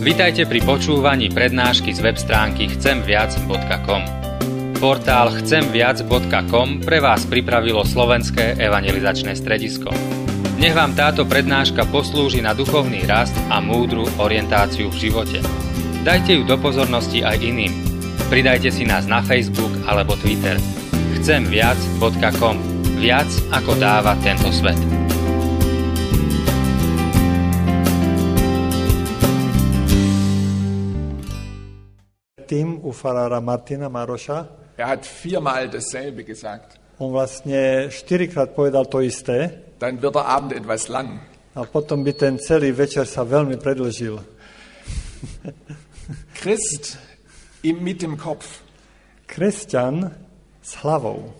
Vitajte pri počúvaní prednášky z web stránky chcemviac.com. Portál chcemviac.com pre vás pripravilo Slovenské evangelizačné stredisko. Nech vám táto prednáška poslúži na duchovný rast a múdru orientáciu v živote. Dajte ju do pozornosti aj iným. Pridajte si nás na Facebook alebo Twitter. chcemviac.com. Viac ako dáva tento svet. U farára Martina Maroša. hat viermal dasselbe gesagt. On vlastne 4-krát povedal to isté. Dann wird der Abend etwas lang. A potom by ten celý večer sa veľmi predĺžil. Christ mit dem Kopf. Kresťan s hlavou.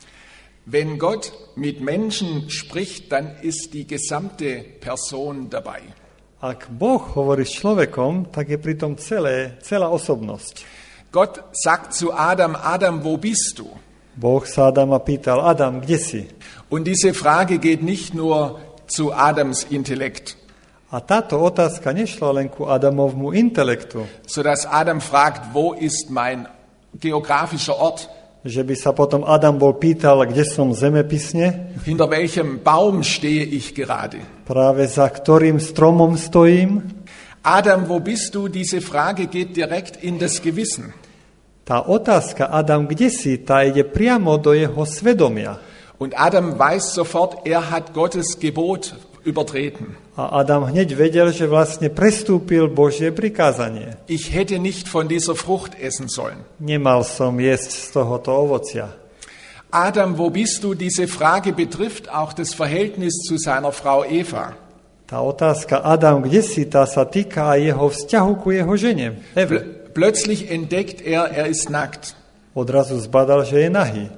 Wenn Gott mit Menschen spricht, dann ist die gesamte Person dabei. Ak Boh hovorí s človekom, tak je pritom celá osobnosť. Gott sagt zu Adam, Adam, wo bist du? Boh sa Adama pýtal, Adam, kde si? Und diese Frage geht nicht nur zu Adams Intellekt. A táto otázka nešla len ku Adamovmu intelektu. Sodass Adam fragt, wo ist mein geografischer Ort? Že by sa potom Adam bol pýtal, kde som zemepisne? Hinter welchem Baum stehe ich gerade? Práve za ktorým stromom stojím? Adam, wo bist du? Diese Frage geht direkt in das Gewissen. Tá otázka, Adam, kde si, tá ide priamo do jeho svedomia. Und Adam weiß sofort, hat Gottes Gebot übertreten. A Adam hneď vedel, že vlastne prestúpil Božie prikázanie. Ich hätte nicht von dieser Frucht essen sollen. Nemal som jesť z tohoto ovocia. Adam, wo bist du? Diese Frage betrifft auch das Verhältnis zu seiner Frau Eva. Tá otázka, Adam, kde si, tá sa týka aj jeho vzťahu ku jeho žene, Eve. Plötzlich entdeckt er ist nackt. Odrazu zbadal, že je nahý.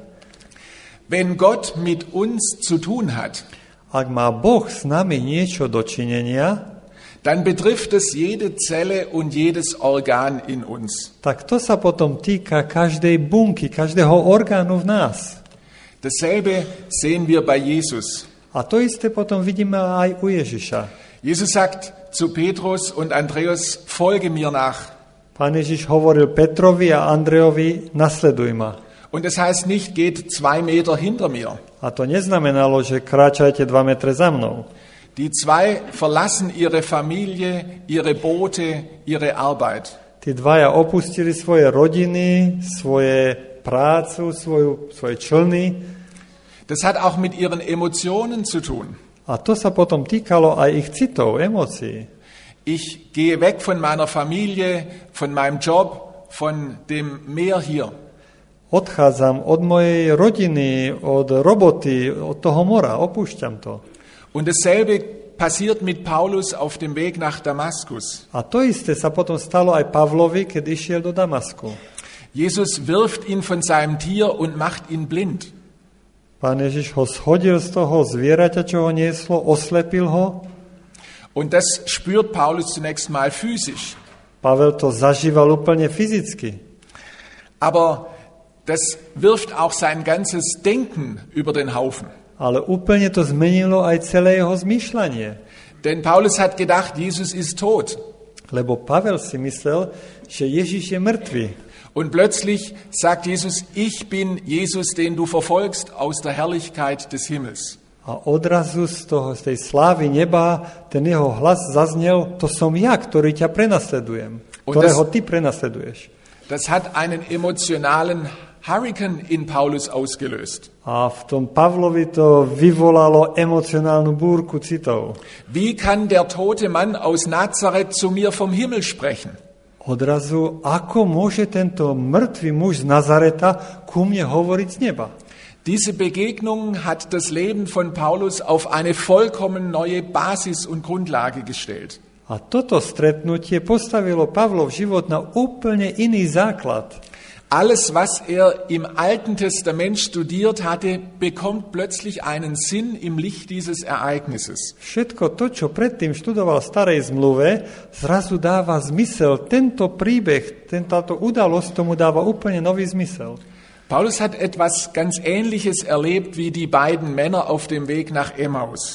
Wenn Gott mit uns zu tun hat, ak má Boh s nami niečo dočinenia, dann betrifft es jede Zelle und jedes Organ in uns. Tak to sa potom týka každej bunky, každého orgánu v nás. Dasselbe sehen wir bei Jesus. A to isté potom vidíme aj u Ježiša. Jesus sagt zu Petrus und Andreas, folge mir nach. Pán Ježiš hovoril Petrovi a Andrejovi, nasleduj ma. Und das heißt nicht, geht 2 Meter hinter mir. A to neznamenalo, že kráčajte 2 metre za mnou. Die zwei verlassen ihre Familie, ihre Boote, ihre Arbeit. Tí dvaja opustili svoje rodiny, svoje prácu, svoje člny. Das hat auch mit ihren Emotionen zu tun. A to sa potom týkalo aj ich citov, emócií. Ich gehe weg von meiner Familie, von meinem Job, von dem Meer hier. Odchádzam od mojej rodiny, od roboty, od toho mora, opúšťam to. Und dasselbe passiert mit Paulus auf dem Weg nach Damaskus. A to isté sa potom stalo aj Pavlovi, keď išiel do Damasku. Jesus wirft ihn von seinem Tier und macht ihn blind. Pán Ježiš ho shodil z toho zvieraťa, čo ho nieslo, oslepil ho. Und das spürt Paulus zunächst mal physisch. Pavel to zažíval úplne fyzicky. Aber das wirft auch sein ganzes Denken über den Haufen. Ale úplne to zmenilo aj celé jeho zmýšľanie. Denn Paulus hat gedacht, Jesus ist tot. Lebo Pavel si myslel, že Ježiš je mŕtvy. Und plötzlich sagt Jesus, ich bin Jesus, den du verfolgst aus der Herrlichkeit des Himmels. A odrazu z tej slávy neba ten jeho hlas zaznel, to som ja, ktorý ťa prenasledujem, ktorého ty prenasleduješ. Das hat einen emotionalen Hurrikan in Paulus ausgelöst. A v tom Pavlovi to vyvolalo emocionálnu búrku citov. Wie kann der tote Mann aus Nazareth zu mir vom Himmel sprechen? Odrazu, ako môže tento mŕtvý muž z Nazareta ku mne hovoriť z neba? Diese Begegnung hat das Leben von Paulus auf eine vollkommen neue Basis und Grundlage gestellt. A toto stretnutie postavilo Pavlov život na úplne iný základ. Alles, was im Alten Testament studiert hatte, bekommt plötzlich einen Sinn im Licht dieses Ereignisses. Všetko to, čo predtým študoval v Starej zmluve, zrazu dáva zmysel. Tento príbeh, táto udalosť tomu dáva úplne nový zmysel. Paulus hat etwas ganz Ähnliches erlebt wie die beiden Männer auf dem Weg nach Emmaus.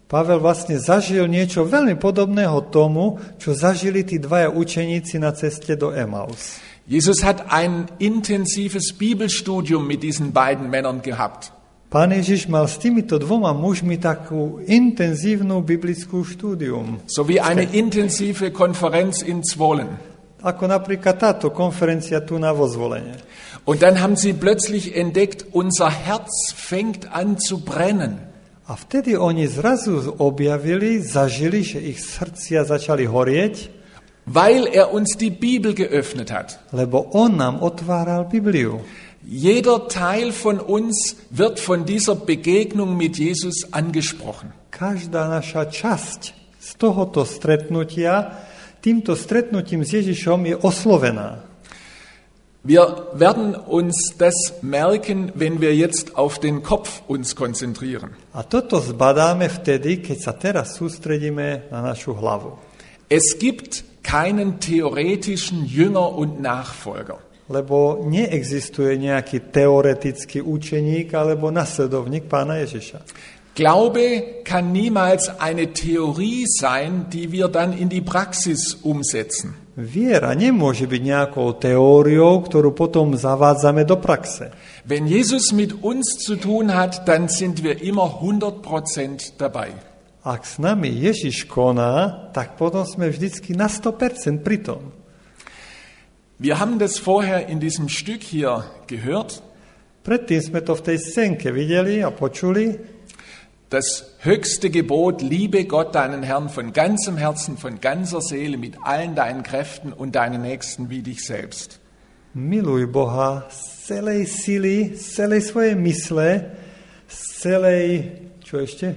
Pavel vlastne zažil niečo veľmi podobného tomu, čo zažili tí dvaja učeníci na ceste do Emaus. Jesus hat ein intensives Bibelstudium mit diesen beiden Männern gehabt. Pán Ježiš mal s týmito dvoma mužmi takú intenzívnu biblickú štúdium. So wie eine intensive Konferenz in Zwolen. Ako napríklad táto konferencia tu na Vozvolene. Und dann haben sie plötzlich entdeckt, unser Herz fängt an zu brennen. A vtedy oni zrazu objavili, zažili, že ich srdcia začali horieť, weil er uns die Bibel geöffnet hat. lebo on nám otváral Bibliu. Jeder Teil von uns wird von dieser Begegnung mit Jesus angesprochen. Každá naša časť z tohoto stretnutia, týmto stretnutím s Ježišom je oslovená. Wir werden uns das merken, wenn wir jetzt auf den Kopf uns konzentrieren. A toto zbadáme vtedy, keď sa teraz sústredíme na našu hlavu. Es gibt keinen theoretischen Jünger und Nachfolger. Lebo neexistuje nejaký teoretický učeník alebo nasledovník Pána Ježiša. Glaube kann niemals eine Theorie sein, die wir dann in die Praxis umsetzen. Viera nemôže byť nejakou teóriou, ktorú potom zavádzame do praxe. Wenn Jesus mit uns zu tun hat, dann sind wir immer 100% dabei. Ak s nami Ježiš koná, tak potom sme vždycky na 100% pri tom. Wir haben das vorher in diesem Stück hier gehört. Predtým sme to v tej scénke videli a počuli. Das höchste Gebot, liebe Gott, deinen Herrn, von ganzem Herzen, von ganzer Seele, mit allen deinen Kräften und deinen Nächsten wie dich selbst. Miluj Boha z celej sily, z celej svojej mysle, z celej, čo ešte?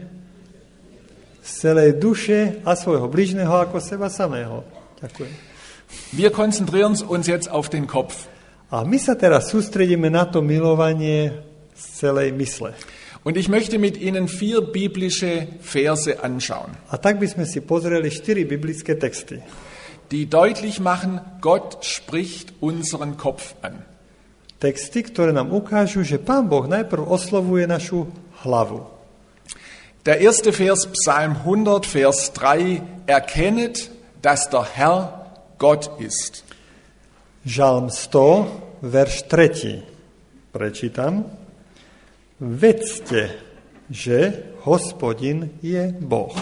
Z celej duše a svojho bližného ako seba samého. Ďakujem. Wir konzentrieren uns jetzt auf den Kopf. A my sa teraz sústredíme na to milovanie z celej mysle. Und ich möchte mit Ihnen 4 biblische Verse anschauen, A tak by sme si pozreli 4 biblické texty, die deutlich machen, Gott spricht unseren Kopf an. texty, ktoré nám ukážu, že Pán Boh najprv oslovuje našu hlavu. Der erste Vers, Psalm 100, Vers 3, erkennet, dass der Herr Gott ist. Žalm 100, verš 3. Prečítam. Vedzte, že Hospodin je Boh.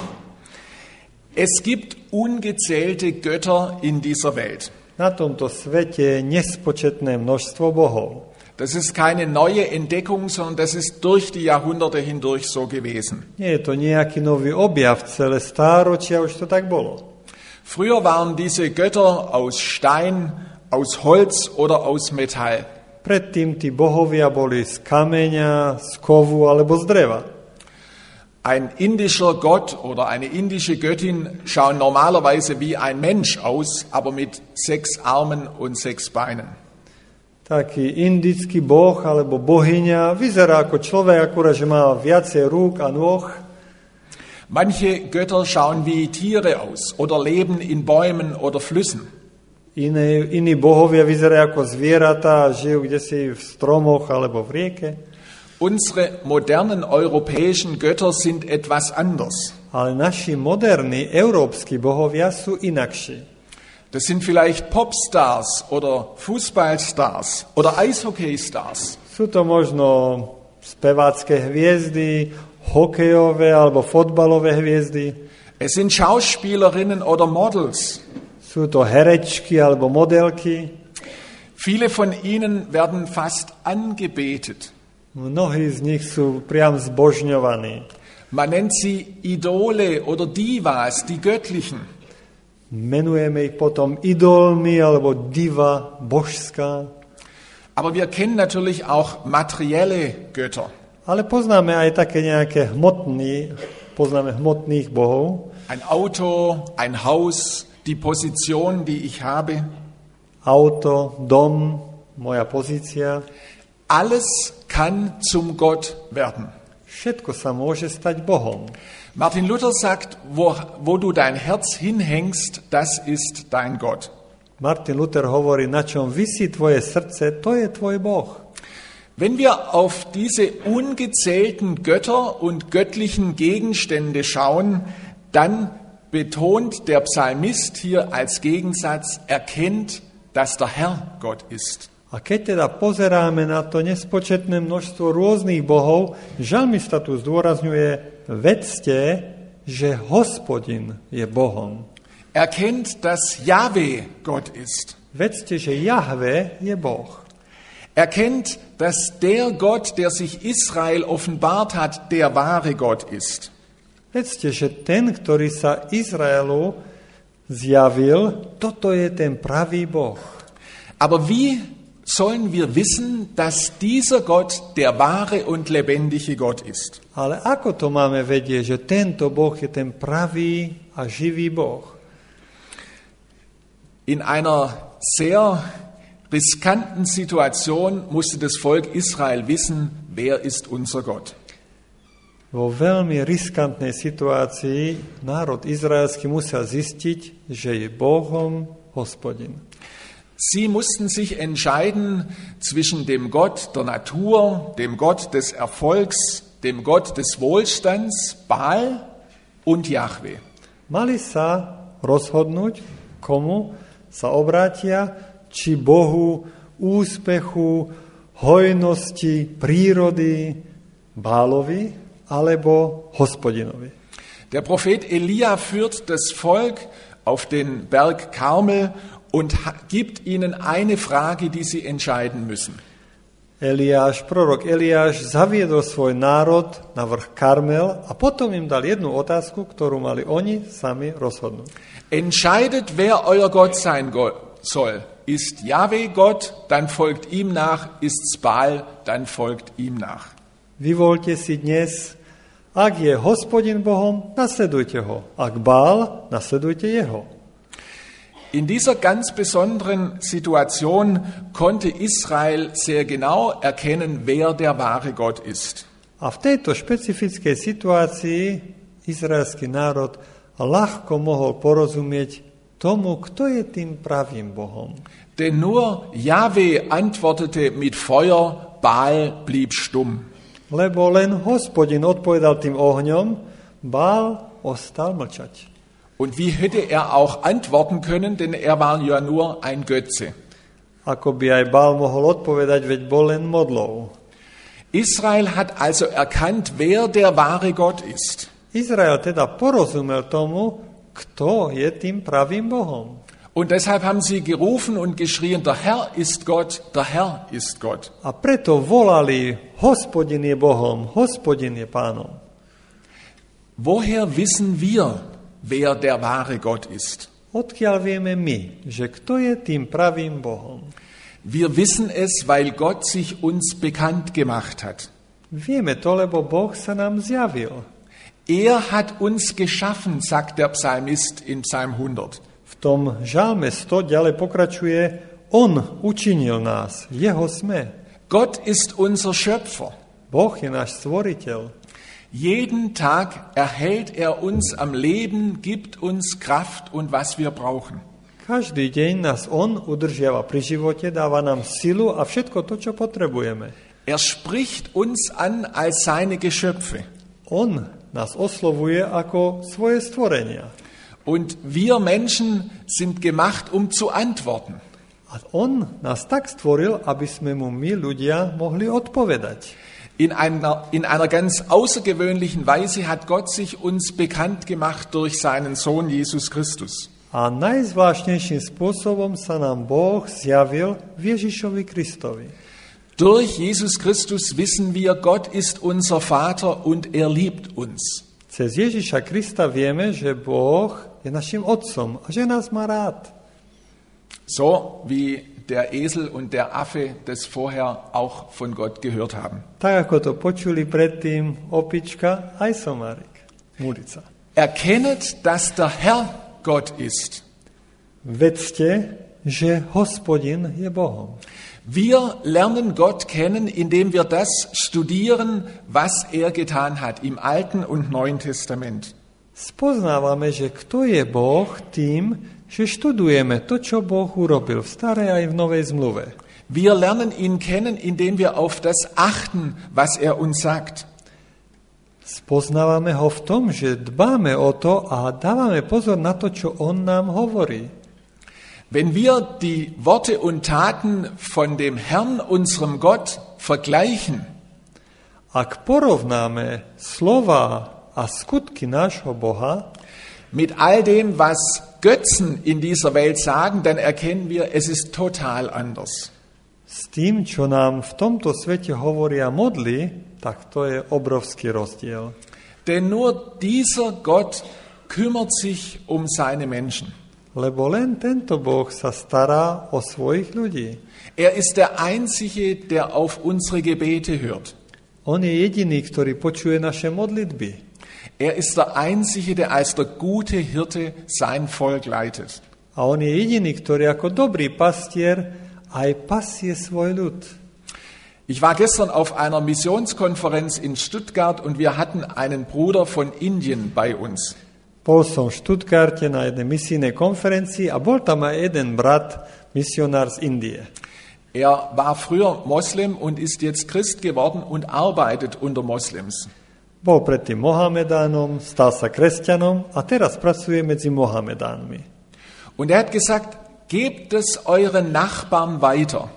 Es gibt ungezählte Götter in dieser Welt. Na tomto svete je nespočetné množstvo bohov. Das ist keine neue Entdeckung, sondern das ist durch die Jahrhunderte hindurch so gewesen. Nie je to nejaký nový objav, celé stáročia už to tak bolo. Früher waren diese Götter aus Stein, aus Holz oder aus Metall. Predtým tí bohovia boli z kameňa, z kovu alebo z dreva. Ein indischer Gott oder eine indische Göttin schauen normalerweise wie ein Mensch aus, aber mit 6 Armen und 6 Beinen. Taký indický boh alebo bohyňa vyzerá ako človek, akurát, že má viacej rúk a nôh. Manche Götter schauen wie Tiere aus oder leben in Bäumen oder Flüssen. Iní bohovia vyzerajú ako zvieratá a žijú kdesi v stromoch alebo v rieke. Unsere modernen europäischen Götter sind etwas anders. Ale naši moderní európski bohovia sú inakší. Das sind vielleicht Popstars oder Fußballstars oder Eishockeystars. Sú to možno spevácké hviezdy, hokejové alebo fotbalové hviezdy. Es sind Schauspielerinnen oder Models. Sú to herečky alebo modelky. Viele von ihnen werden fast angebetet. Mnohí z nich sú priam zbožňovaní. Man nennt sie Idole oder Divas, die Göttlichen. Menujeme ich potom idolmi alebo diva božská. Aber wir kennen natürlich auch materielle Götter. Ale poznáme aj také nejaké hmotných bohov. Ein Auto, ein Haus, die Position, die ich habe. Auto, dom, moja pozícia. Alles kann zum Gott werden. Všetko sa môže stať Bohom. Martin Luther sagt, wo du dein Herz hinhängst, das ist dein Gott. Martin Luther hovorí, na čom visí tvoje srdce, to je tvoj Boh. Wenn wir auf diese ungezählten Götter und göttlichen Gegenstände schauen, dann betont der Psalmist hier als Gegensatz, erkennt, dass der Herr Gott ist. A keď teda pozeráme na to nespočetné množstvo rôznych bohov, žalmista tu zdôrazňuje, vedzte, že Hospodin je Bohom. Erkennt, dass Jahwe Gott ist. Vedzte, že Jahve je Boh. Erkennt, dass der Gott, der sich Israel offenbart hat, der wahre Gott ist. Vedzte, že ten, ktorý sa Izraelu zjavil, toto je ten pravý Boh. Aber wie sollen wir wissen, dass dieser Gott der wahre und lebendige Gott ist? Ale ako to máme vedieť, že tento Boh je ten pravý a živý Boh? In einer sehr riskanten Situation musste das Volk Israel wissen, wer ist unser Gott. Vo veľmi riskantnej situácii národ izraelský musel zistiť, že je Bohom Hospodin. Sie mussten sich entscheiden zwischen dem Gott der Natur, dem Gott des Erfolgs, dem Gott des Wohlstands, Baal und Jahwe. Mali sa rozhodnúť, komu sa obrátia, či Bohu úspechu, hojnosti, prírody, Bálovi, alebo Hospodinovi. Der Prophet Elia führt das Volk auf den Berg Karmel und gibt ihnen eine Frage, die sie entscheiden müssen. Prorok Eliáš zaviedol svoj národ na vrch Karmel a potom im dal jednu otázku, ktorú mali oni sami rozhodnúť. Entscheidet, wer euer Gott sein soll. Ist Jahwe Gott, dann folgt ihm nach. Ist's Baal, dann folgt ihm nach. Vyvoľte si dnes, ak je Hospodin Bohom, nasledujte ho. Ak Baal, nasledujte jeho. In dieser ganz besonderen Situation konnte Israel sehr genau erkennen, wer der wahre Gott ist. A v tejto špecifickej situácii izraelský národ ľahko mohol porozumieť tomu, kto je tým pravým Bohom. Denn nur Jahwe antwortete mit Feuer, Baal blieb stumm. Lebo len Hospodin odpovedal tým ohňom, Baal ostal mlčať. Und wie hätte er auch antworten können, denn er war ja nur ein Götze. Ako by aj Baal mohol odpovedať, veď bol len modlou. Israel hat also erkannt, wer der wahre Gott ist. Izrael teda porozumel tomu, kto je tým pravým Bohom. Und deshalb haben sie gerufen und geschrien, der Herr ist Gott, der Herr ist Gott. A preto volali, Hospodin je Bohom, Hospodin je Pánom. Woher wissen wir, wer der wahre Gott ist? Odkiaľ vieme my, že kto je tým pravým Bohom? Wir wissen es, weil Gott sich uns bekannt gemacht hat. Vieme to, lebo Boh sa nám zjavil. Er hat uns geschaffen, sagt der Psalmist in Psalm 100. V tom žalme 100 ďalej pokračuje, on učinil nás, jeho sme. Gott ist unser Schöpfer. Boh je náš stvoriteľ. Jeden Tag erhält er uns am Leben, gibt uns Kraft und was wir brauchen. Každý deň nás on udržiava pri živote, dáva nám silu a všetko to, čo potrebujeme. Er spricht uns an als seine Geschöpfe. On nás oslovuje ako svoje stvorenia. Und wir Menschen sind gemacht, um zu antworten. A on nás tak stvoril, aby sme mu my, ľudia, mohli odpovedať. In einer ganz außergewöhnlichen Weise hat Gott sich uns bekannt gemacht durch seinen Sohn Jesus Christus. A najzvláštnejším spôsobom sa nám Boh zjavil v Ježišovi Kristovi. Durch Jesus Christus wissen wir, Gott ist unser Vater und er liebt uns. Cez Ježiša Krista vieme, že Boh je našim otcom a že nás má rád. So wie der Esel und der Affe das vorher auch von Gott gehört haben. Tak ako to počuli predtým opička aj somárik, mulica. Erkennet, dass der Herr Gott ist. Vedzte, že Hospodin je Bohom. Wir lernen Gott kennen, indem wir das studieren, was er getan hat im Alten und Neuen Testament. Spoznávame, že kto je Boh tým, že študujeme to, čo Boh urobil v starej aj v novej zmluve. Wir lernen ihn kennen, indem wir auf das achten, was er uns sagt. Spoznávame ho v tom, že dbáme o to a dávame pozor na to, čo on nám hovorí. Wenn wir die Worte und Taten von dem Herrn, unserem Gott, vergleichen, Ak porovnáme slova a skutky nášho Boha mit all dem, was Götzen in dieser Welt sagen, dann erkennen wir, es ist total anders. s tým, čo nám v tomto svete hovoria modly, tak to je obrovský rozdiel. Denn nur dieser Gott kümmert sich um seine Menschen. Lebo len tento Boh sa stará o svojich ľudí. Er ist der Einzige, der auf unsere Gebete hört. On je jediný, ktorý počuje naše modlitby. Er ist der Einzige, der als der gute Hirte sein Volk leitet. A on je jediný, ktorý ako dobrý pastier aj pasie svoj ľud. Ich war gestern auf einer Missionskonferenz in Stuttgart und wir hatten einen Bruder von Indien bei uns. Bol som v Stuttgarte na jednej misijnej konferencii a bol tam aj jeden brat, misionár z Indie. Er war früher Moslem und ist jetzt Christ geworden und arbeitet unter Moslems. Bol predtým Mohamedánom, stal sa kresťanom a teraz pracuje medzi Mohamedánmi. Und er hat gesagt, gebt es euren Nachbarn weiter.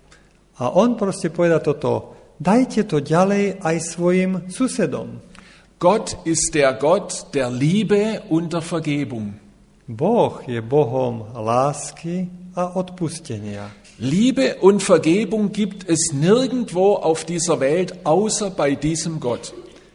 A on proste povedal toto, dajte to ďalej aj svojim susedom. Gott ist der Gott der Liebe und der Vergebung. Boh je Bohom lásky a odpustenia. Liebe und Vergebung gibt es nirgendwo auf dieser Welt, außer bei diesem Gott.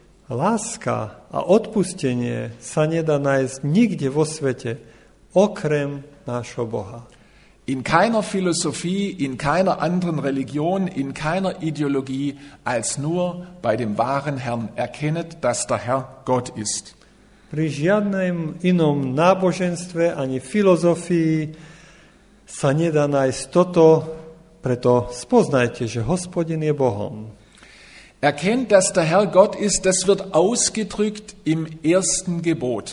Láska a odpustenie sa nedá nájsť nikde vo svete, okrem nášho Boha. In keiner Philosophie, in keiner anderen Religion, in keiner Ideologie, als nur bei dem wahren Herrn. Erkennet, dass der Herr Gott ist. Pri žiadnom inom náboženstve ani filozofii sa nedá nájsť toto, preto spoznajte, že Hospodin je Bohom. Erkennt, dass der Herr Gott ist, das wird ausgedrückt im ersten Gebot.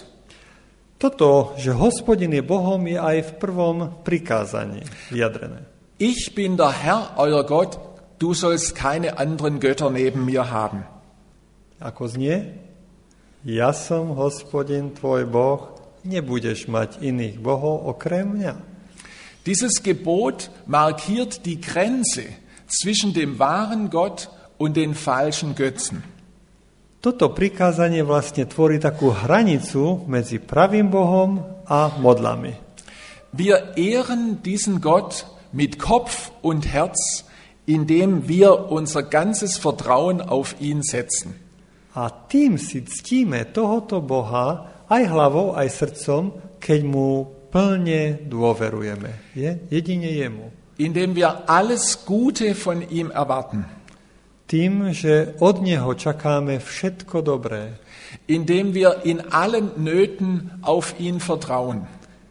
Toto, že Hospodin je Bohom, je aj v prvom prikázaní vyjadrené. Ich bin der Herr, euer Gott, du sollst keine anderen Götter neben mir haben. Ako znie? Ja som Hospodin, tvoj Boh, nebudeš mať iných bohov okrem mňa. Dieses Gebot markiert die Grenze zwischen dem wahren Gott und den falschen Götzen. Toto prikázanie vlastne tvorí takú hranicu medzi pravým Bohom a modlami. Wir ehren diesen Gott mit Kopf und Herz, indem wir unser ganzes Vertrauen auf ihn setzen. A tým si ctíme tohoto Boha aj hlavou, aj srdcom, keď mu plne dôverujeme. Jedine jemu. Indem wir alles Gute von ihm erwarten. Tým, že od neho čakáme všetko dobré. Indem wir in allen Nöten auf ihn vertrauen.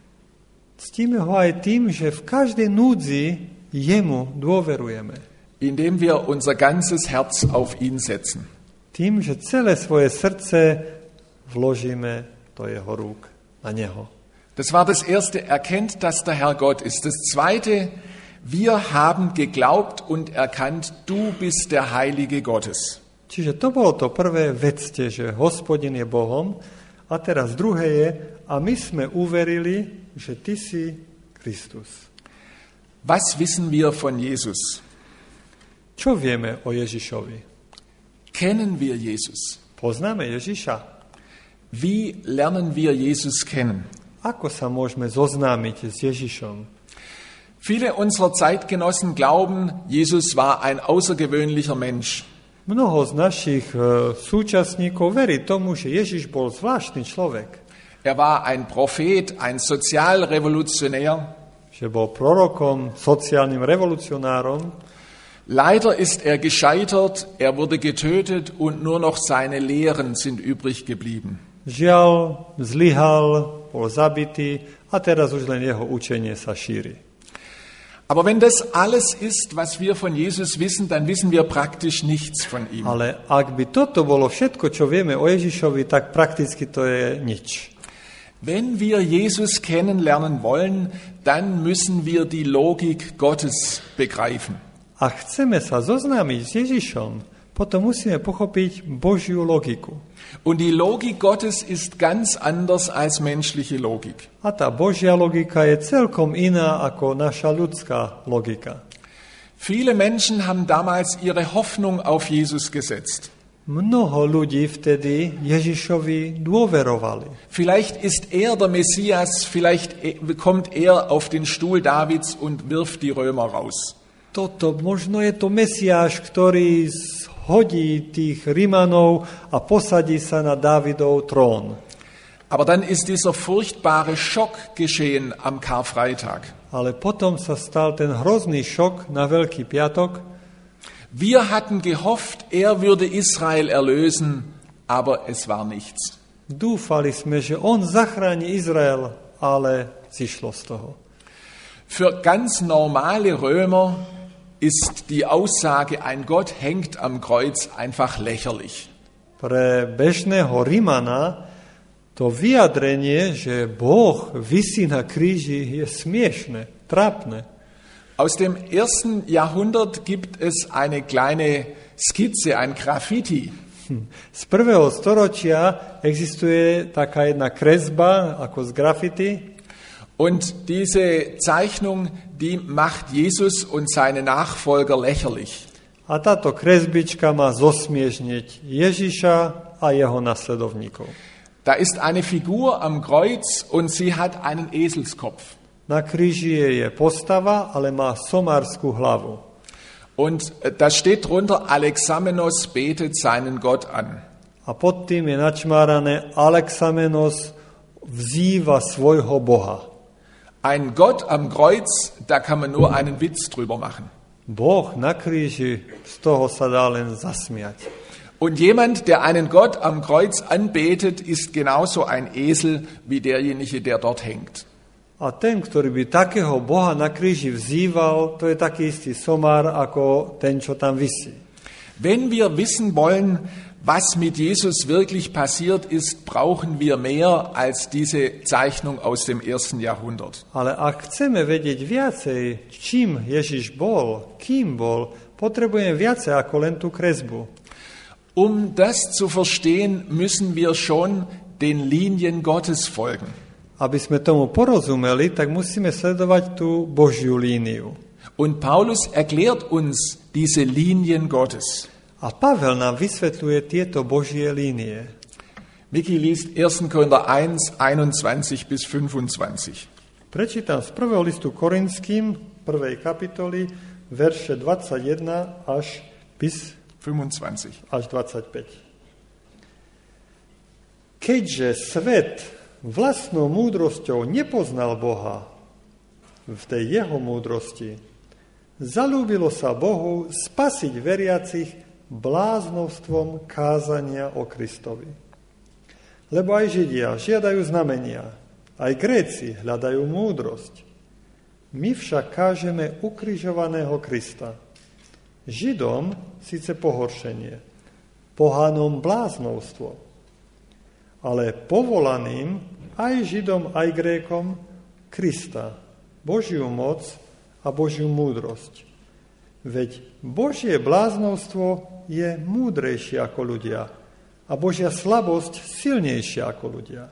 Ctíme ho aj tým, že v každej núdzi jemu dôverujeme. Indem wir unser ganzes Herz auf ihn setzen. Tým, že celé svoje srdce vložíme do jeho rúk, na neho. Das war das erste, erkennt, dass der Herr Gott ist. Das zweite, wir haben geglaubt und erkannt, du bist der Heilige Gottes. Čiže to bolo to prvé, vedzte, že Hospodin je Bohom. A teraz druhé je, a my sme uverili, že ty si Kristus. Was wissen wir von Jesus? Čo vieme o Ježišovi? Kennen wir Jesus? Poznáme Ježiša. Wie lernen wir Jesus kennen? Ako sa môžeme zoznámiť s Ježišom? Viele unserer Zeitgenossen glauben, Jesus war ein außergewöhnlicher Mensch. Mnoho z našich súčasníkov verí tomu, že Ježiš bol zvláštny človek. Er war ein Prophet, ein Sozialrevolutionär. Že bol prorokom, sociálnym revolucionárom. Leider ist er gescheitert, er wurde getötet und nur noch seine Lehren sind übrig geblieben. Žiaľ, zlyhal, bol zabitý a teraz už len jeho učenie sa šíri. Aber wenn das alles ist, was wir von Jesus wissen, dann wissen wir praktisch nichts von ihm. Ale ak by toto bolo všetko, čo vieme o Ježišovi, tak prakticky to je nič. Wenn wir Jesus kennenlernen wollen, dann müssen wir die Logik Gottes begreifen. A chceme sa zoznámiť s Ježišom, potom musíme pochopiť Božiu logiku. Und die Logik Gottes ist ganz anders als menschliche Logik. A tá Božia logika je celkom iná ako naša ľudská logika. Viele Menschen haben damals ihre Hoffnung auf Jesus gesetzt. Mnoho ľudí vtedy Ježišovi dôverovali. Vielleicht ist er der Messias, vielleicht kommt er auf den Stuhl Davids und wirft die Römer raus. Možno je to Mesiáš, ktorý hodí tých Rimanov a posadí sa na Dávidov trón. Aber dann ist dieser furchtbare Schock geschehen am Karfreitag. Ale potom sa stal ten hrozný šok na Veľký piatok. Wir hatten gehofft, er würde Israel erlösen, aber es war nichts. Dúfali sme, že on zachráni Izrael, ale zišlo z toho. Für ganz normale Römer ist die Aussage, ein Gott hängt am Kreuz, einfach lächerlich. Pre bežného Rimana to vyjadrenie, že Boh visí na kríži, je smiešne, trápne. Aus dem 1. Jahrhundert gibt es eine kleine Skizze, ein Graffiti. Z 1. storočia existuje taká jedna kresba ako z graffiti. Und diese Zeichnung, die macht Jesus und seine Nachfolger lächerlich. A táto kresbička má zosmiešniť Ježiša a jeho nasledovníkov. Da ist eine Figur am Kreuz und sie hat einen Eselskopf. Na kríži je postava, ale má somárskú hlavu. Und da steht drunter, Alexamenos betet seinen Gott an. A pod tým je načmárané, Alexamenos vzýva svojho Boha. Ein Gott am Kreuz, da kann man nur einen Witz drüber machen. Boh na kríži, z toho sa dá len zasmiať. Und jemand, der einen Gott am Kreuz anbetet, ist genauso ein Esel wie derjenige, der dort hängt. A ten, ktorý by takého Boha na kríži vzýval, to je taký istý somár ako ten, čo tam visí. Wenn wir wissen wollen, was mit Jesus wirklich passiert ist, brauchen wir mehr als diese Zeichnung aus dem 1. Jahrhundert. Ale ak chceme vedieť viacej, čím Ježiš bol, kým bol, potrebujeme viacej ako len tú kresbu. Um das zu verstehen, müssen wir schon den Linien Gottes folgen. Aby sme tomu porozumeli, tak musíme sledovať tú Božiu líniu. Und Paulus erklärt uns diese Linien Gottes. A Pavel nám vysvetľuje tieto Božie línie. Vicky liest 1. Korinther 1, 21 bis 25. Prečítam z 1. listu Korinským, 1. kapitoly, verše 21 až 25. Až 25. Keďže svet vlastnou múdrosťou nepoznal Boha v tej jeho múdrosti, zalúbilo sa Bohu spasiť veriacich bláznovstvom kázania o Kristovi. Lebo aj Židia žiadajú znamenia, aj Gréci hľadajú múdrosť. My však kážeme ukrižovaného Krista. Židom síce pohoršenie, pohanom bláznovstvo, ale povolaným aj Židom, aj Grékom Krista, Božiu moc a Božiu múdrosť. Veď Božie bláznovstvo je múdrejšie ako ľudia a Božia slabosť silnejšia ako ľudia.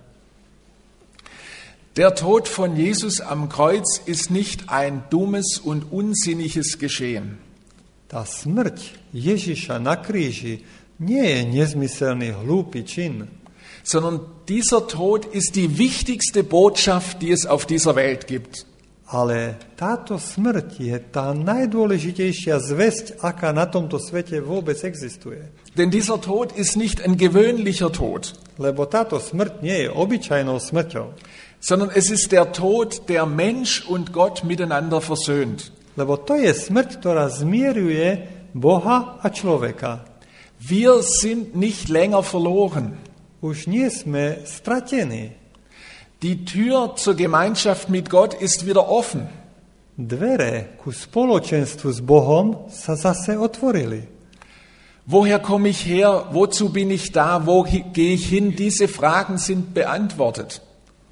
Der Tod von Jesus am Kreuz ist nicht ein dummes und unsinniges Geschehen. Tá smrť Ježiša na kríži nie je nezmyselný, hlúpy čin, sondern dieser Tod ist die wichtigste Botschaft, die es auf dieser Welt gibt. Ale táto smrť je tá najdôležitejšia zvesť, aká na tomto svete vôbec existuje. Denn dieser Tod ist nicht ein gewöhnlicher Tod. Lebo táto smrť nie je obyčajnou smrťou. Sondern es ist der Tod, der Mensch und Gott miteinander versöhnt. Lebo to je smrť, ktorá zmieruje Boha a človeka. Wir sind nicht länger verloren. Už nie sme stratení. Die Tür zur Gemeinschaft mit Gott ist wieder offen. Dvere ku spoločenstvu s Bohom sa zase otvorili. Woher komme ich her? Wozu bin ich da? Wo gehe ich hin? Diese Fragen sind beantwortet.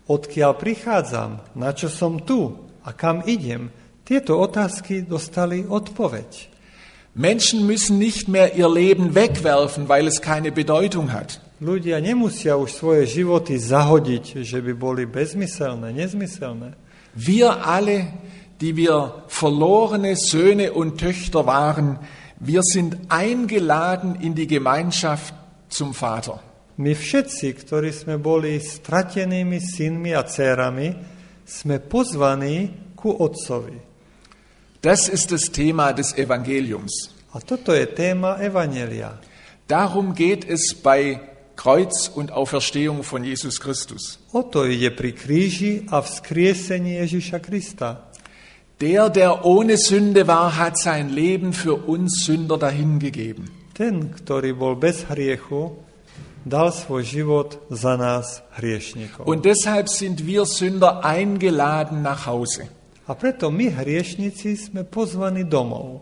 odkiaľ prichádzam, na čo som tu a kam idem, tieto otázky dostali odpoveď. Menschen müssen nicht mehr ihr Leben wegwerfen, weil es keine Bedeutung hat. Ľudia nemusia už svoje životy zahodiť, že by boli bezmyselné, nezmyselné. Wir alle, die wir verlorene Söhne und Töchter waren, wir sind eingeladen in die Gemeinschaft zum Vater. My všetci, ktorí sme boli stratenými synmi a dcérami, sme pozvaní ku Otcovi. Das ist das Thema des Evangeliums. A toto je téma Evanjelia. Darum geht es bei Kreuz und Auferstehung von Jesus Christus. O to ide pri kríži a vzkriesení Ježiša Krista. Der ohne Sünde war, hat sein Leben für uns Sünder dahingegeben. Ten, ktorý bol bez hriechu, dal svoj život za nás hriešnikov. Und deshalb sind wir Sünder eingeladen nach Hause. A preto my, hriešnici, sme pozvaní domov.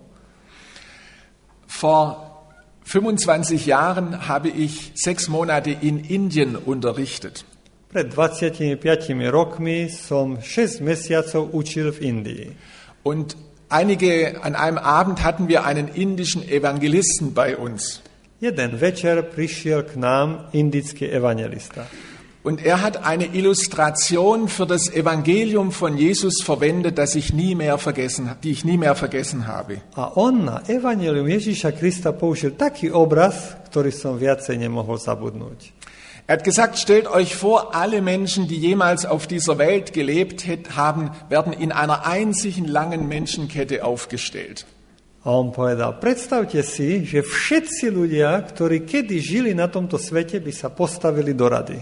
Vor 25 Jahren habe ich 6 Monate in Indien unterrichtet. Pred 25 rokmi som 6 mesiacov učil v Indii. Und an einem Abend hatten wir einen indischen Evangelisten bei uns. Jeden večer prišiel k nám indický evangelista. Und er hat eine Illustration für das Evangelium von Jesus verwendet, die ich nie mehr vergessen habe. A on na evanjelium Ježiša Krista použil taký obraz, ktorý som viacej nemohol zabudnúť. Er hat gesagt, stellt euch vor, alle Menschen, die jemals auf dieser Welt gelebt haben, werden in einer einzigen langen Menschenkette aufgestellt. A on povedal, predstavte si, že všetci ľudia, ktorí kedy žili na tomto svete, by sa postavili do rady.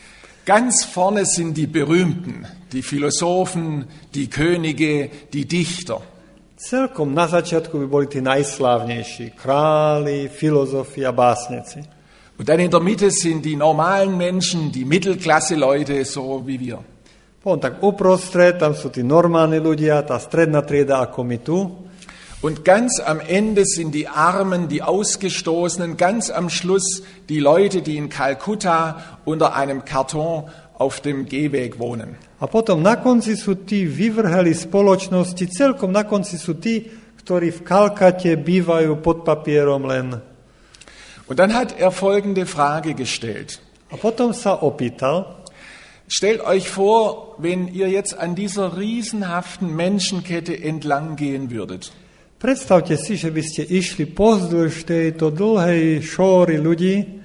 Ganz vorne sind die Berühmten, die Philosophen, die Könige, die Dichter. Celkom na začiatku by boli tí najslávnejší, králi, filozofi a básnici. Und dann in der Mitte sind die normalen Menschen, die Mittelklasse-Leute, so wie wir. Potom tak uprostred, tam sú tí normálni ľudia, tá stredná trieda ako my tu. Und ganz am Ende sind die Armen, die Ausgestoßenen, ganz am Schluss die Leute, die in Kalkutta unter einem Karton auf dem Gehweg wohnen. A potom na konci sú tí vyvrheli spoločnosti, celkom na konci sú tí, ktorí v Kalkate bývajú pod papierom len. Und dann hat er folgende Frage gestellt. A potom sa opýtal, stellt euch vor, wenn ihr jetzt an dieser riesenhaften Menschenkette entlang gehen würdet. Predstavte si, že by ste išli pozdĺž tejto dlhej šóry ľudí.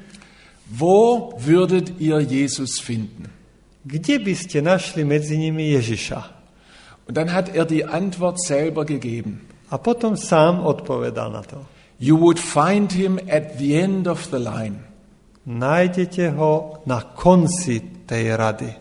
Wo würdet ihr Jesus finden? Kde by ste našli medzi nimi Ježiša? Und dann hat er die Antwort selber gegeben. A potom sám odpovedal na to. You would find him at the end of the line. Nájdete ho na konci tej rady.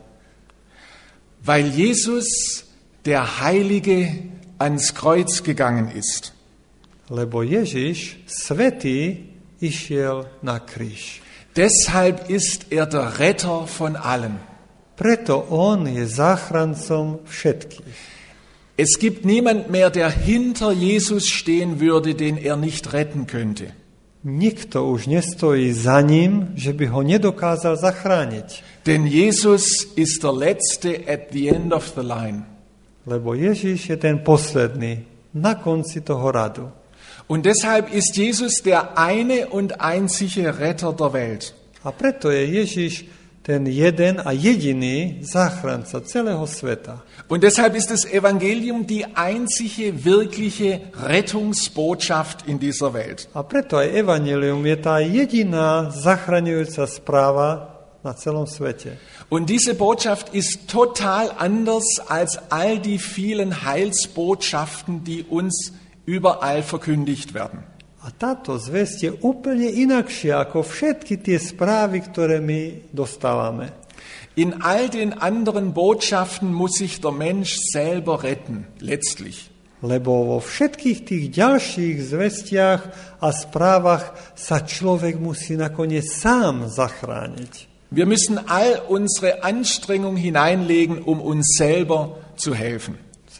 Weil Jesus, der Heilige, ans Kreuz gegangen ist. Lebo Ježiš, svätý, išiel na kríž. Deshalb ist er der Retter von allen. Preto on je záchrancom všetkých. Es gibt niemand mehr, der hinter Jesus stehen würde, den er nicht retten könnte. Nikto už nestojí za ním, že by ho nedokázal zachrániť. Denn Jesus ist der Letzte at the end of the line. Lebo Ježiš je ten posledný, na konci toho radu. Und deshalb ist Jesus der eine und einzige Retter der Welt. A preto je Ježiš ten jeden a jediný záchranca celého sveta. Und deshalb ist das Evangelium die einzige wirkliche Rettungsbotschaft in dieser Welt. A preto aj evanjelium je tá jediná zachraňujúca správa na celom svete. Und diese Botschaft ist total anders als all die vielen Heilsbotschaften, die uns überall verkündigt werden. A táto zvesť je úplne inakšia ako všetky tie správy, ktoré my dostávame. In all den anderen Botschaften muss sich der Mensch selber retten, letztlich. Lebo vo všetkých tých ďalších zvestiach a správach sa človek musí nakoniec sám zachrániť. Wir müssen all unsere Anstrengung hineinlegen, um uns selber zu helfen.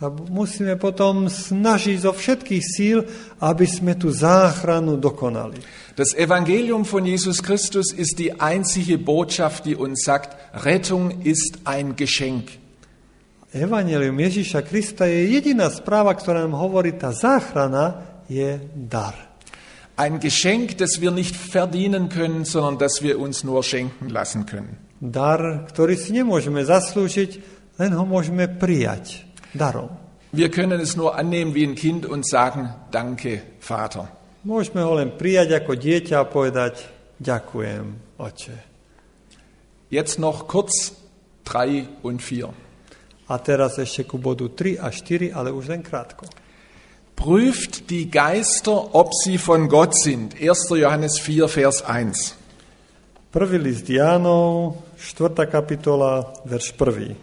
sa musíme potom snažiť zo všetkých síl, aby sme tú záchranu dokonali. Das Evangelium von Jesus Christus ist die einzige Botschaft, die uns sagt, Rettung ist ein Geschenk. Evangelium Ježíša Krista je jediná správa, ktorá nám hovorí, tá záchrana je dar. Ein Geschenk, das wir nicht verdienen können, sondern das wir uns nur schenken lassen können. Dar, ktorý si nemôžeme zaslúžiť, len ho môžeme prijať darom. Wir können es nur annehmen wie ein Kind und sagen, danke, Vater. Môžeme ho len prijať ako dieťa a povedať, ďakujem, Oče. Jetzt noch kurz 3 und 4. A teraz ešte ku bodu 3 a 4, ale už len krátko. Prüft die Geister, ob sie von Gott sind. 1. Johannes 4, Vers 1. Prvý list Jánov, 4. kapitola, verš 1.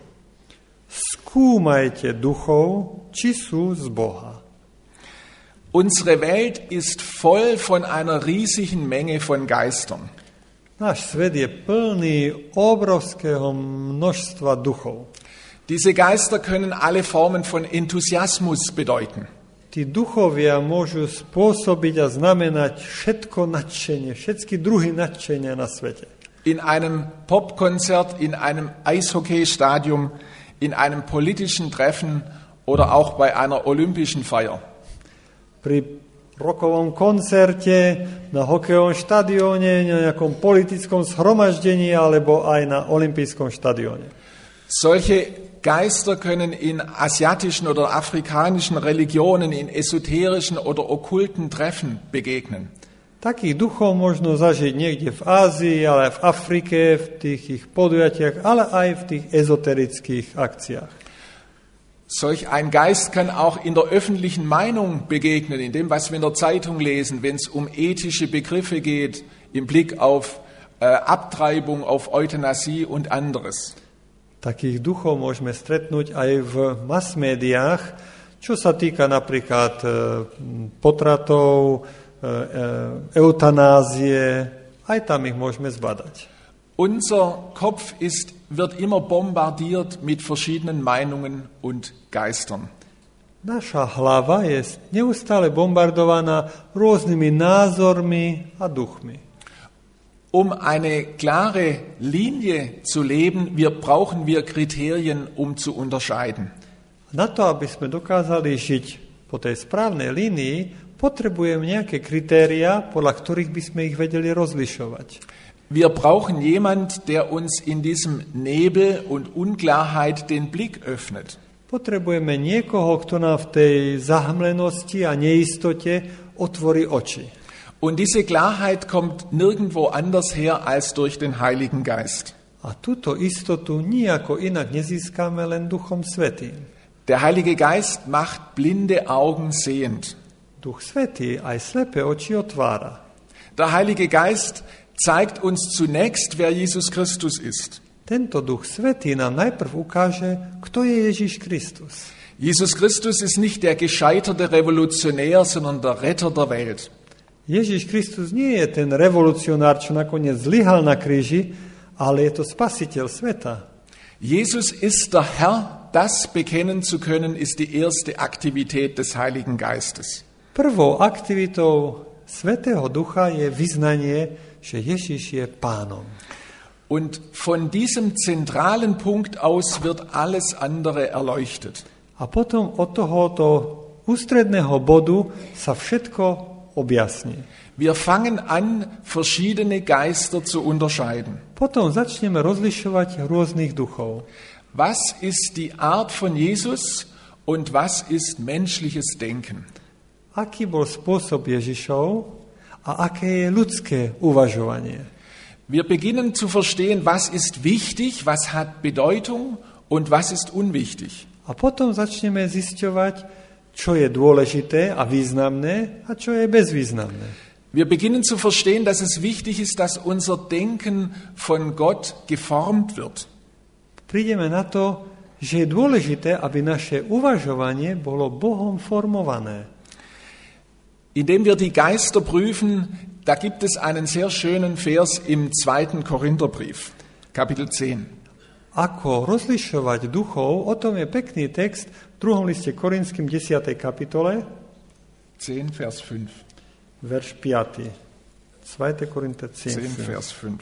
Skúmajte duchov, či sú z Boha. Unsere Welt ist voll von einer riesigen Menge von Geistern. Náš svet je plný obrovského množstva duchov. Diese Geister können alle Formen von Enthusiasmus bedeuten. Tí duchovia môžu spôsobiť a znamenať všetko nadšenie, všetky druhy nadšenia na svete. In einem Popkonzert, in einem Eishockeystadion, in einem politischen Treffen oder auch bei einer olympischen Feier. Pri rockovom koncerte, na hokejovom štadióne, na nejakom politickom zhromaždení alebo aj na olympijskom štadióne. Solche Geister können in asiatischen oder afrikanischen Religionen, in esoterischen oder okkulten Treffen begegnen. Takých duchov možno zažiť niekde v Ázii, ale aj v Afrike, v tých ich podujatiach, ale aj v tých ezoterických akciách. Solch ein Geist kann auch in der öffentlichen Meinung begegnen, in dem, was wir in der Zeitung lesen, wenn es um ethische Begriffe geht, im Blick auf Abtreibung, auf Euthanasie und anderes. Takých duchov môžeme stretnúť aj v mass-médiách, čo sa týka napríklad potratov, eutanázie, aj tam ich môžeme zbadať. Unser Kopf wird immer bombardiert mit verschiedenen Meinungen und Geistern. Naša hlava je neustále bombardovaná rôznymi názormi a duchmi. Um eine klare Linie zu leben, brauchen wir Kriterien, um zu unterscheiden. Na to, aby sme dokázali žiť po tej správnej línii, potrebujeme nejaké kritéria, podľa ktorých by sme ich vedeli rozlišovať. Wir brauchen jemand, der uns in diesem Nebel und Unklarheit den Blick öffnet. Potrebujeme niekoho, kto nám v tej zahmlenosti a neistote otvorí oči. Und diese Klarheit kommt nirgendwo anders her als durch den Heiligen Geist. A túto istotu nijako inak nezískame len Duchom Svätým. Der Heilige Geist macht blinde Augen sehend. Duch Svätý aj slepé oči otvára. Der Heilige Geist zeigt uns zunächst, wer Jesus Christus ist. Tento Duch Svätý nám najprv ukáže, kto je Ježiš Kristus. Jesus Christus ist nicht der gescheiterte Revolutionär, sondern der Retter der Welt. Ježiš Kristus nie je ten revolucionár, čo nakoniec zlyhal na kríži, ale je to spasiteľ sveta. Jesus ist der Herr, das bekennen zu können, ist die erste Aktivität des Heiligen Geistes. Prvou aktivitou Svätého Ducha je vyznanie, že Ježiš je Pánom. Und von diesem zentralen Punkt aus wird alles andere erleuchtet. A potom od tohoto ústredného bodu sa všetko objasní. Wir fangen an, verschiedene Geister zu unterscheiden. Potom začneme rozlišovať rôznych duchov. Was ist die Art von Jesus und was ist menschliches Denken? Aký bol spôsob Ježišov a aké je ľudské uvažovanie? Wir beginnen zu verstehen, was ist wichtig, was hat Bedeutung und was ist unwichtig. A potom začneme zisťovať, čo je dôležité a významné a čo je bezvýznamné. Wir beginnen zu verstehen, dass es wichtig ist, dass unser Denken von Gott geformt wird. Prídeme na to, že je dôležité, aby naše uvažovanie bolo Bohom formované. Indem wir die Geister prüfen, da gibt es einen sehr schönen Vers im 2. Korintherbrief, Kapitel 10. Ako rozlišovať duchov, o tom je pekný text druhom liste Korinským 10. kapitole, 10, Vers 5. verš 5. 2. Korinther 10, 10, Vers 5.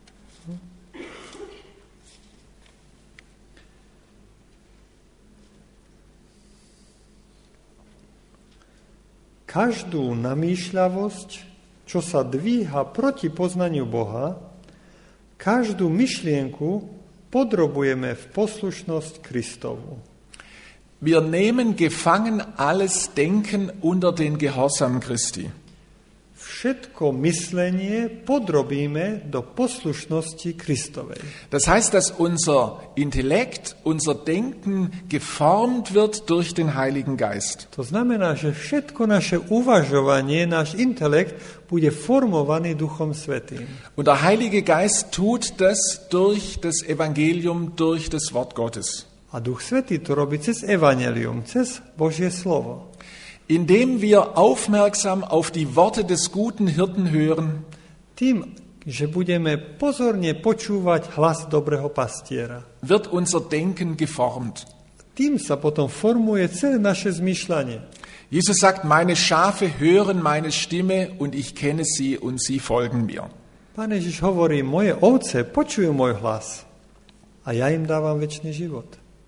Každú namýšľavosť, čo sa dvíha proti poznaniu Boha, každú myšlienku podrobujeme v poslušnosť Kristovu. Wir nehmen gefangen alles Denken unter den Gehorsam Christi. Všetko myslenie podrobíme do poslušnosti Kristovej. Das heißt, dass unser Intellekt, unser Denken geformt wird durch den Heiligen Geist. To znamená, že všetko naše uvažovanie, náš intelekt bude formovaný Duchom Svätým. Und der Heilige Geist tut das durch das Evangelium, durch das Wort Gottes. A Duch Svätý to robí cez evanjelium, cez Božie slovo. Indem wir aufmerksam auf die Worte des guten Hirten hören, Tým, že budeme pozorne počúvať hlas dobrého pastiera. wird unser Denken geformt. Tým sa potom formuje celé naše zmýšľanie. Jesus sagt, meine Schafe hören meine Stimme und ich kenne sie und sie folgen mir. Pán Ježiš hovorí, moje ovce počujú môj hlas a ja im dávam večný život.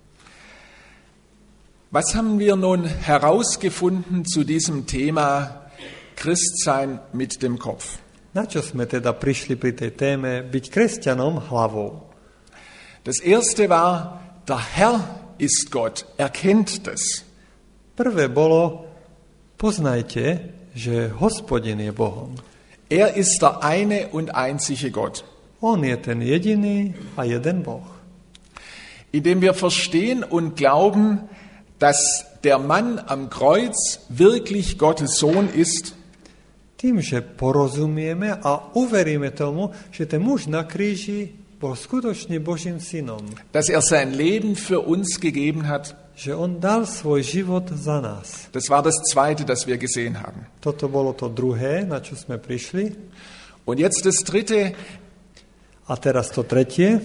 Was haben wir nun herausgefunden zu diesem Thema Christsein mit dem Kopf? Na čo sme teda prišli pri tej téme byť kresťanom hlavou? Das erste war, der Herr ist Gott, erkennt das. Prvé bolo, poznajte, že Hospodin je Bohom. Er ist der eine und einzige Gott. On je ten jediný a jeden Boh. Indem wir verstehen und glauben, dass der Mann am Kreuz wirklich Gottes Sohn ist, Tým, že porozumieme a uveríme tomu, že ten muž na kríži bol skutočne Božím synom. dass er sein Leben für uns gegeben hat, Že on dal svoj život za nás. das war das Zweite, das wir gesehen haben. Toto bolo to druhé, na čo sme prišli. Und jetzt das Dritte, A teraz to tretie.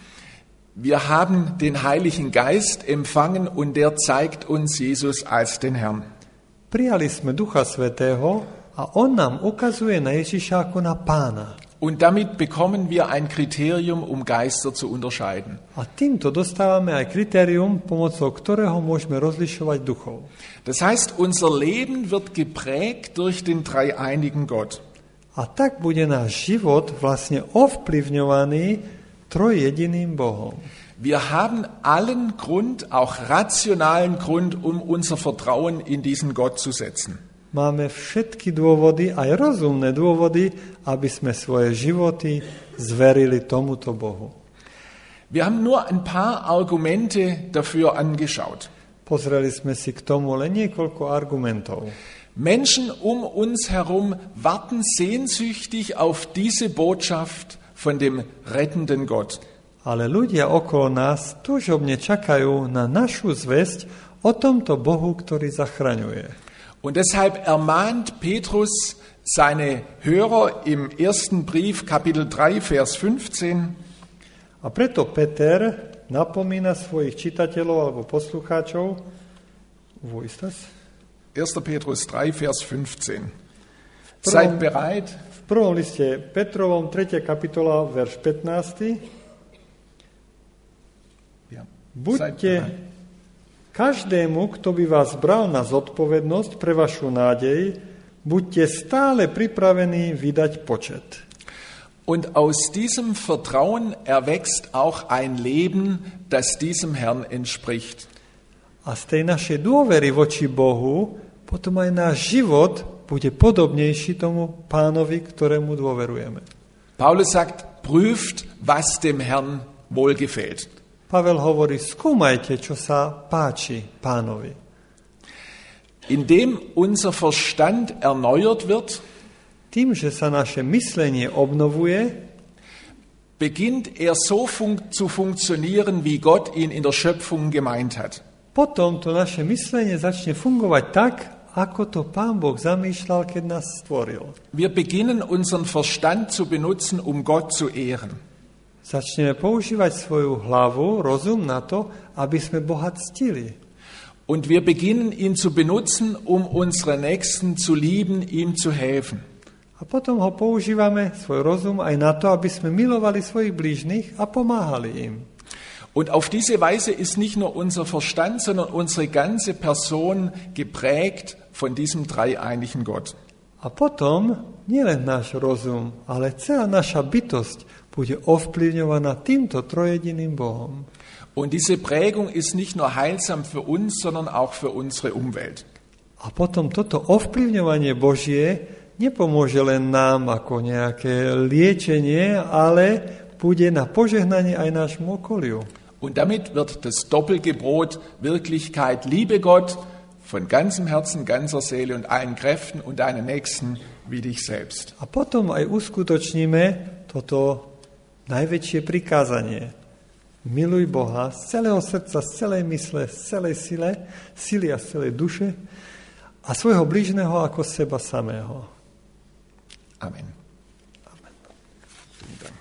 wir haben den Heiligen Geist empfangen und der zeigt uns Jesus als den Herrn. Prijali sme Ducha Svätého a on nám ukazuje na Ježiša ako na Pána. Und damit bekommen wir ein Kriterium, um Geister zu unterscheiden. A týmto dostávame aj kritérium, pomocou ktorého môžeme rozlišovať duchov. Das heißt, unser Leben wird geprägt durch den dreieinigen Gott. A tak bude náš život vlastne ovplyvňovaný trojjediným Bohom. Wir haben allen Grund, auch rationalen Grund, um unser Vertrauen in diesen Gott zu setzen. Máme všetky dôvody, aj rozumné dôvody, aby sme svoje životy zverili tomuto Bohu. Wir haben nur ein paar Argumente dafür angeschaut. Pozreli sme si k tomu len niekoľko argumentov. Menschen um uns herum warten sehnsüchtig auf diese Botschaft von dem rettenden Gott. Ale ľudia okolo nás túžobne čakajú na našu zvesť o tomto Bohu, ktorý zachraňuje. Und deshalb ermahnt Petrus seine Hörer im ersten Brief, Kapitel 3, Vers 15. A preto Peter napomína svojich čitateľov alebo poslucháčov. Wo ist das? 1. Petrus 3, Vers 15. Seid bereit. V prvom liste Petrovom, 3. kapitola, verš 15. Ja. Buďte každému, kto by vás bral na zodpovednosť pre vašu nádej, buďte stále pripravení vydať počet. Und aus diesem Vertrauen erwächst auch ein Leben, das diesem Herrn entspricht. A z tej našej dôvery voči Bohu potom aj náš život bude podobnejší tomu Pánovi, ktorému dôverujeme. Paulus sagt, prüft, was dem Herrn wohlgefällt. Pavel hovorí, skúmajte, čo sa páči Pánovi. Indem unser Verstand erneuert wird, Tým, že sa naše myslenie obnovuje, beginnt er so zu funktionieren, wie Gott ihn in der Schöpfung gemeint hat. potom to naše myslenie začne fungovať tak, ako to Pán Boh zamýšľal, keď nás stvoril. Wir beginnen unseren Verstand zu benutzen, um Gott zu ehren. Začneme používať svoju hlavu, rozum na to, aby sme Boha ctili. Und wir beginnen ihn zu benutzen, um unsere Nächsten zu lieben, ihm zu helfen. A potom ho používame, svoj rozum, aj na to, aby sme milovali svojich blížnych a pomáhali im. Und auf diese Weise ist nicht nur unser Verstand, sondern unsere ganze Person geprägt von diesem dreieinigen Gott. A potom nielen náš rozum, ale celá naša bytosť bude ovplyvňovaná týmto trojediným Bohom. Und diese Prägung ist nicht nur heilsam für uns, sondern auch für unsere Umwelt. A potom toto ovplyvňovanie Božie nepomôže len nám ako nejaké liečenie, ale bude na požehnanie aj nášmu okoliu. Und damit wird das Doppelgebot Wirklichkeit, liebe Gott von ganzem Herzen, ganzer Seele und allen Kräften und deinen Nächsten wie dich selbst. A potom aj uskutočníme toto najväčšie prikázanie. Miluj Boha z celého srdca, z celej mysle, z celej sily a z celej duše a svojho blížneho ako seba samého. Amen.